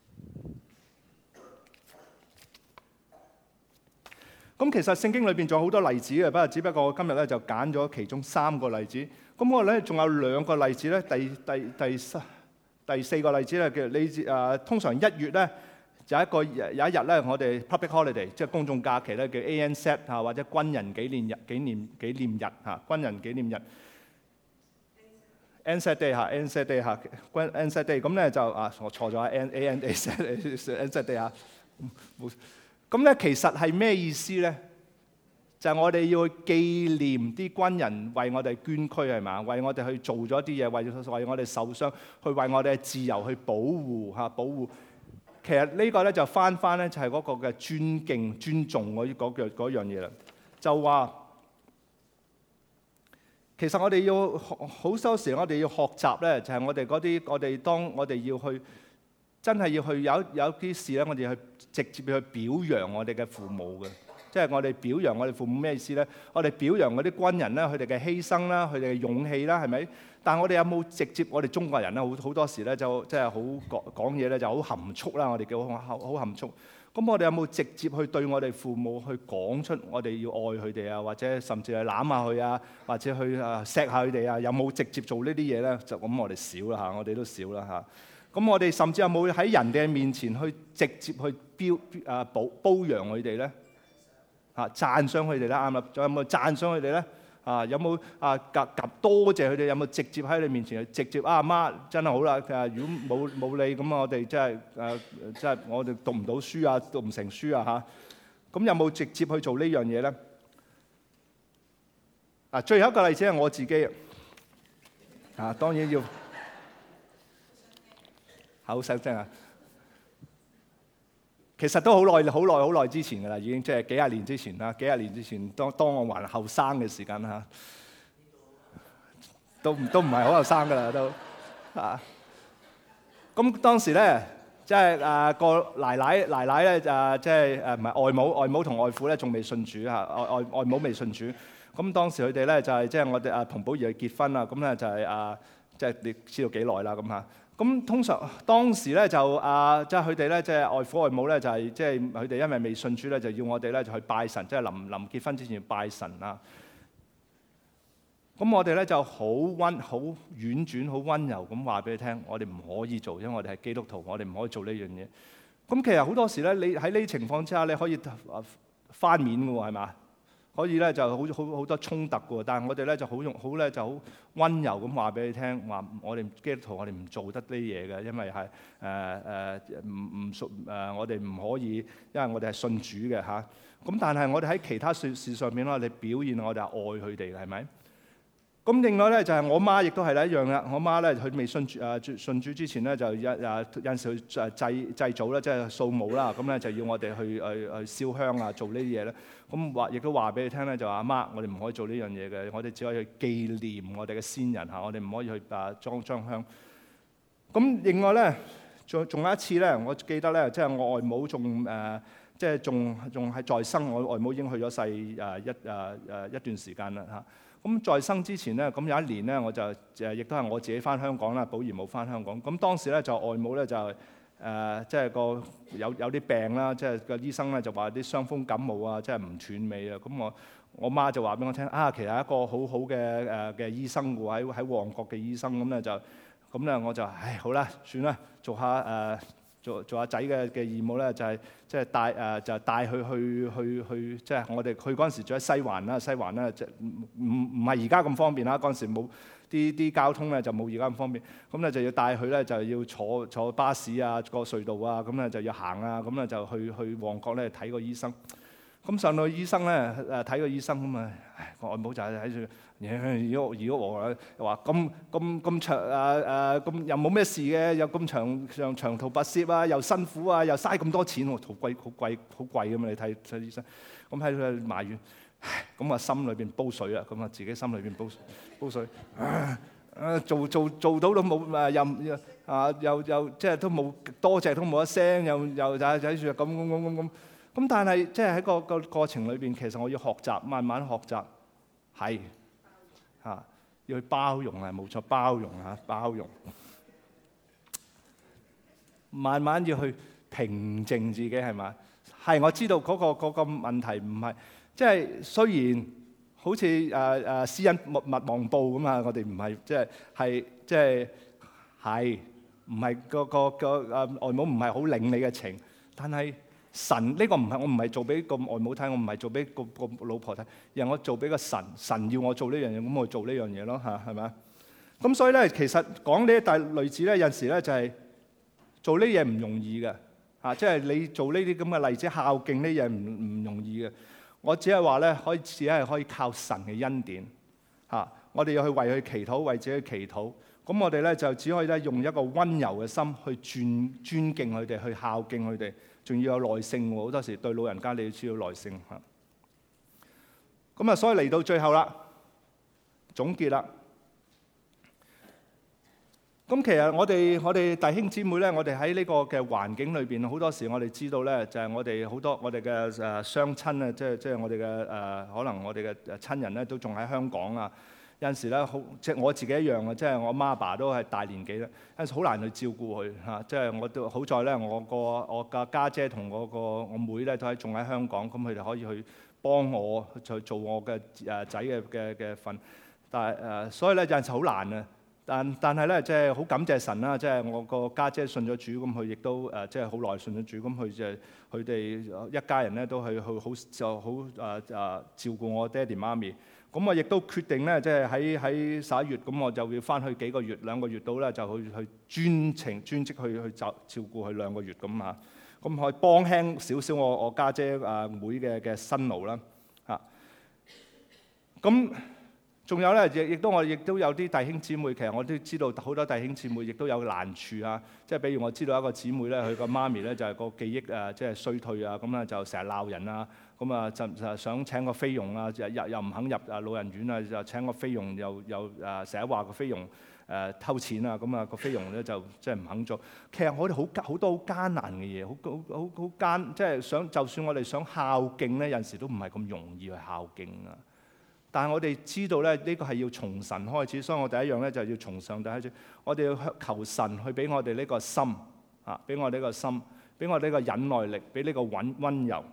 咁其實聖經裏邊仲有好多例子嘅，不過只不過我今日咧就揀咗其中三個例子。咁我咧仲有兩個例子咧，第第第三第四個例子咧，叫你誒通常一月咧就一個有一日咧，我哋 public holiday 即係公眾假期咧，叫 A N Z 嚇，或者軍人紀念日紀念紀念日嚇，軍人紀念日 A N Z Day 嚇 A N Z Day 嚇軍 A N Z Day 咁咧就啊我錯咗啊 A N A N Z Day 嚇冇。咁咧其實係咩意思咧？就係、是、我哋要去紀念啲軍人為我哋捐軀係嘛，為我哋去做咗啲嘢，為為我哋受傷，去為我哋嘅自由去保護嚇保護。其實呢個咧就翻翻咧就係嗰個嘅尊敬、尊重嗰嗰樣嗰樣嘢啦。就話其實我哋要好多時，我哋要學習咧，就係我哋嗰啲我哋當我哋要去。真係要去有有啲事咧，我哋去直接去表揚我哋嘅父母嘅，即係我哋表揚我哋父母咩意思咧？我哋表揚嗰啲軍人啦，佢哋嘅犧牲啦，佢哋嘅勇氣啦，係咪？但係我哋有冇直接？我哋中國人咧，好好多時咧就即係好講講嘢咧，就好含蓄啦。我哋叫好好含蓄。咁我哋有冇直接去對我哋父母去講出我哋要愛佢哋啊，或者甚至係攬下佢啊，或者去啊錫下佢哋啊？有冇直接做呢啲嘢咧？就咁我哋少啦嚇，我哋都少啦嚇。咁我哋甚至有冇喺人哋面前去直接去標啊褒褒揚佢哋咧？嚇讚賞佢哋咧啱啦，仲有冇讚賞佢哋咧？啊有冇啊夾夾多謝佢哋？有冇直接喺你面前直接啊阿媽真係好啦？誒如果冇冇你咁我哋真係誒即係我哋讀唔到書啊，讀唔成書啊嚇。咁有冇直接去做呢樣嘢咧？啊最後一個例子係我自己啊，當然要。好細聲啊！其實都好耐、好耐、好耐之前㗎啦，已經即係幾廿年之前啦。幾廿年之前，當當我還後生嘅時間嚇，都都唔係好後生㗎啦，都啊。咁當時咧，即係誒個奶奶奶奶咧誒，即係誒唔係外母，外母同外父咧仲未信主嚇，外外外母未信主。咁當時佢哋咧就係即係我哋阿彭寶儀去結婚啦，咁咧就係啊，即係你知道幾耐啦咁嚇。咁通常當時咧就啊，即係佢哋咧，即係外父外母咧，就係即係佢哋因為未信主咧，就要我哋咧就去拜神，即係臨臨結婚之前要拜神啊。咁我哋咧就好溫、好婉轉、好溫柔咁話俾佢聽，我哋唔可以做，因為我哋係基督徒，我哋唔可以做呢樣嘢。咁其實好多時咧，你喺呢啲情況之下，你可以翻面嘅喎，係嘛？ 可以咧就好好好多衝突嘅喎。但係我哋咧就好用好咧就好温柔咁話俾你聽，話我哋基督徒我哋唔做得呢啲嘢嘅，因為係誒誒唔唔屬誒我哋唔可以，因為我哋係信主嘅嚇。咁但係我哋喺其他事事上面咧，我哋表現我哋係愛佢哋嘅，係咪？咁另外咧就係我媽亦都係一樣啦。我媽咧佢未信主誒信主之前咧就一誒有陣時去誒祭祭祖啦，即係掃墓啦。咁咧就要我哋去去去燒香啊，做呢啲嘢咧。咁話亦都話俾你聽咧，就話阿媽，我哋唔可以做呢樣嘢嘅，我哋只可以去紀念我哋嘅先人嚇，我哋唔可以去誒裝裝香。咁另外咧，仲仲有一次咧，我記得咧，即係我外母仲誒，即係仲仲係在生，我外母已經去咗世誒一誒誒一段時間啦嚇。咁在生之前咧，咁有一年咧，我就誒亦都係我自己翻香港啦，寶兒冇翻香港。咁當時咧就外母咧就誒即係個有有啲病啦，即係個醫生咧就話啲傷風感冒啊，即係唔斷尾啊。咁我我媽就話俾我聽啊，其實一個好好嘅誒嘅醫生喎，喺喺旺角嘅醫生。咁咧就咁咧我就唉好啦，算啦，做下誒。呃做做阿仔嘅嘅義務咧，就係即係帶誒，就帶佢去去去，即係我哋去嗰陣時住喺西環啦，西環咧就唔唔唔係而家咁方便啦，嗰陣時冇啲啲交通咧就冇而家咁方便，咁咧就要帶佢咧就要坐坐巴士啊，過隧道啊，咁咧就要行啊，咁咧就去去旺角咧睇個醫生。咁上到醫生咧誒睇個醫生咁啊，個外母就喺度。如果如果我話咁咁咁長誒誒咁又冇咩事嘅，又咁長長長途跋涉啊，又辛苦啊，又嘥咁多錢喎，好貴好貴好貴咁嘛！你睇睇醫生，咁喺度埋怨，咁啊心裏邊煲水啊，咁啊自己心裏邊煲煲水，啊啊做做做到都冇誒又啊又又即係都冇多謝都冇一聲，又又就喺住咁咁咁咁咁，咁但係即係喺個個過程裏邊，其實我要學習，慢慢學習係。嚇！要去包容啊，冇錯，包容啊，包容。慢慢要去平靜自己係咪？係，我知道嗰個嗰個問題唔係，即係雖然好似誒誒施恩勿勿忘報咁啊，我哋唔係即係係即係係唔係個個個誒外母唔係好領你嘅情，但係。神呢個唔係我唔係做俾個外母睇，我唔係做俾個個老婆睇，而係我做俾個神。神要我做呢樣嘢，咁我做呢樣嘢咯嚇，係咪？咁所以咧，其實講呢一大類似咧，有陣時咧就係做呢嘢唔容易嘅嚇，即係你做呢啲咁嘅例子孝敬呢嘢唔唔容易嘅。我只係話咧，可以只係可以靠神嘅恩典嚇。我哋要去為佢祈禱，為自己祈禱。咁我哋咧就只可以咧用一個温柔嘅心去尊尊敬佢哋，去孝敬佢哋。仲要有耐性喎，好多時對老人家你要需要耐性嚇。咁啊，所以嚟到最後啦，總結啦。咁其實我哋我哋弟兄姊妹咧，我哋喺呢個嘅環境裏邊，好多時我哋知道咧，就係我哋好多我哋嘅誒雙親啊，即係即係我哋嘅誒可能我哋嘅誒親人咧，都仲喺香港啊。有陣時咧，好即係我自己一樣啊，即係我媽爸都係大年紀啦，有陣時好難去照顧佢嚇。即係我都好在咧，我個我嘅家姐同我個我妹咧都喺仲喺香港，咁佢哋可以去幫我去做我嘅誒仔嘅嘅嘅份。但係誒，所以咧有陣時好難啊。但但係咧，即係好感謝神啦！即係我個家姐信咗主，咁佢亦都誒即係好耐信咗主，咁佢就佢哋一家人咧都係去好就好誒誒照顧我爹哋媽咪。咁我亦都決定咧，即係喺喺十一月，咁我就要翻去幾個月，兩個月到咧，就去去專程專職去去照照顧佢兩個月咁嚇，咁可以幫輕少少我我家姐啊妹嘅嘅辛勞啦嚇。咁仲有咧，亦亦都我亦都有啲弟兄姊妹，其實我都知道好多弟兄姊妹亦都有難處啊。即係比如我知道一個姊妹咧，佢個媽咪咧就係個記憶啊，即係衰退啊，咁咧就成日鬧人啊。咁啊，就就想請個菲傭啊，又又唔肯入啊老人院啊，就請個菲傭，又又誒成日話個菲傭誒偷錢啊，咁啊個菲傭咧就即係唔肯做。其實我哋好好多好艱難嘅嘢，好好好好艱，即係想就算我哋想孝敬咧，有陣時都唔係咁容易去孝敬啊。但係我哋知道咧，呢個係要從神開始，所以我第一樣咧就係要從上帝開始。我哋要求神去俾我哋呢個心啊，俾我哋呢個心，俾我哋呢個忍耐力，俾呢個溫溫柔。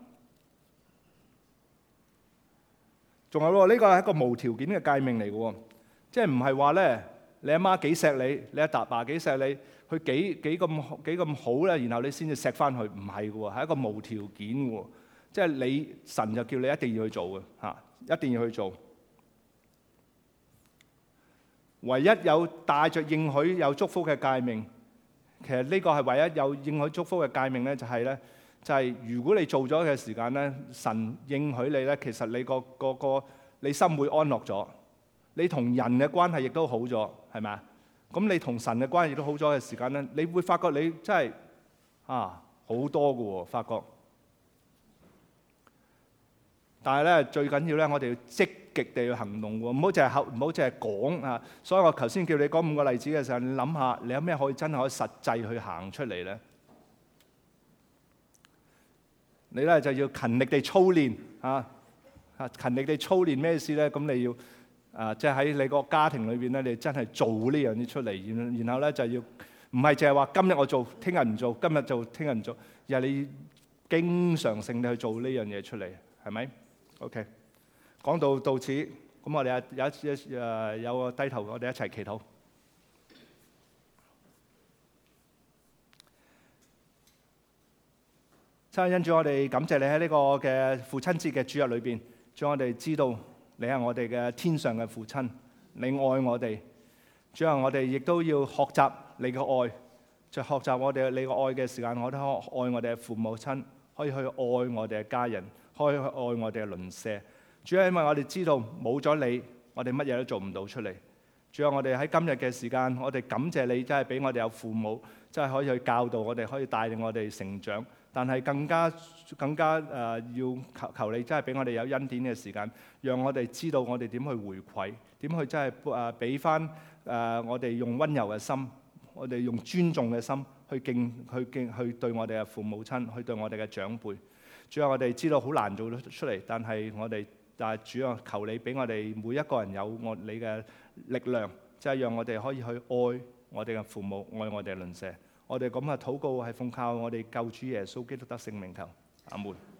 仲有喎，呢個係一個無條件嘅誡命嚟嘅喎，即係唔係話咧，你阿媽幾錫你，你阿爸爸幾錫你，佢幾幾咁幾咁好咧，然後你先至錫翻佢，唔係嘅喎，係一個無條件嘅喎，即係你神就叫你一定要去做嘅嚇， 一定要去做。唯一有帶着應許有祝福嘅誡命，其實呢個係唯一有應許祝福嘅誡命咧，就係咧，就係如果你做咗嘅時間咧，神應許你咧，其實你個個個你心會安樂咗，你同人嘅關係亦都好咗，係咪啊？咁你同神嘅關係亦都好咗嘅時間咧，你會發覺你真係啊好多㗎喎，發覺。但係咧，最緊要咧，我哋要積極地去行動喎，唔好淨係口，唔好淨係講啊！所以我頭先叫你講五個例子嘅時候，你諗下，你有咩可以真係可以實際去行出嚟咧？你咧就要勤力地操練啊！啊，勤力地操練咩意思咧？咁你要啊，即係喺你個家庭裏邊咧，你真係做呢樣嘢出嚟，然然後咧就要唔係淨係話今日我做，聽日唔做，今日做，聽日唔做，而係你經常性地去做呢樣嘢出嚟，係咪？OK， 講到到此，咁我哋有一一誒有個低頭，我哋一齊祈禱。親愛的恩主，我哋感謝你喺呢個嘅父親節嘅主日裏邊，主，我哋知道你係我哋嘅天上嘅父親，你愛我哋。主啊，我哋亦都要學習你嘅愛，在學習我哋你嘅愛嘅時間，我哋可愛我哋嘅父母親，可以去愛我哋嘅家人。可以去愛我哋嘅鄰舍，主要因為我哋知道冇咗你，我哋乜嘢都做唔到出嚟。主要我哋喺今日嘅時間，我哋感謝你，真係俾我哋有父母，真係可以去教導我哋，可以帶領我哋成長。但係更加更加誒、呃，要求求你，真係俾我哋有恩典嘅時間，讓我哋知道我哋點去回饋，點去真係誒俾翻誒我哋用溫柔嘅心，我哋用尊重嘅心去敬去敬去對我哋嘅父母親，去對我哋嘅長輩。主啊，我哋知道好難做得出嚟，但係我哋，但係主啊，求你俾我哋每一個人有我你嘅力量，即係讓我哋可以去愛我哋嘅父母，愛我哋嘅鄰舍。我哋咁嘅禱告係奉靠我哋救主耶穌基督得聖名求，阿門。